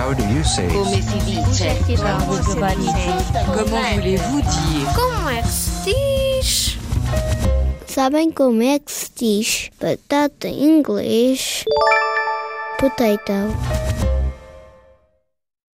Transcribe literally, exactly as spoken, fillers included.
How do you say? Come si dice? Comment voulez-vous dire? Como é que se diz? Sabem como é que se diz batata em inglês? Potato.